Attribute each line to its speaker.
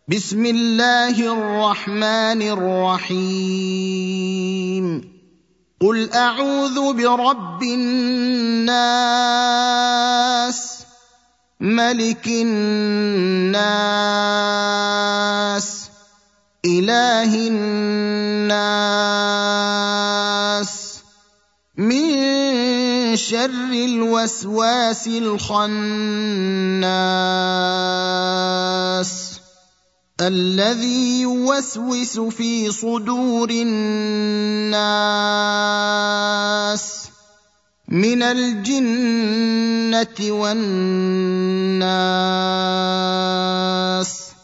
Speaker 1: بسم الله الرحمن الرحيم قل اعوذ برب الناس ملك الناس اله الناس من شر الوسواس الخناس الذي يوسوس في صدور الناس من الجنة والناس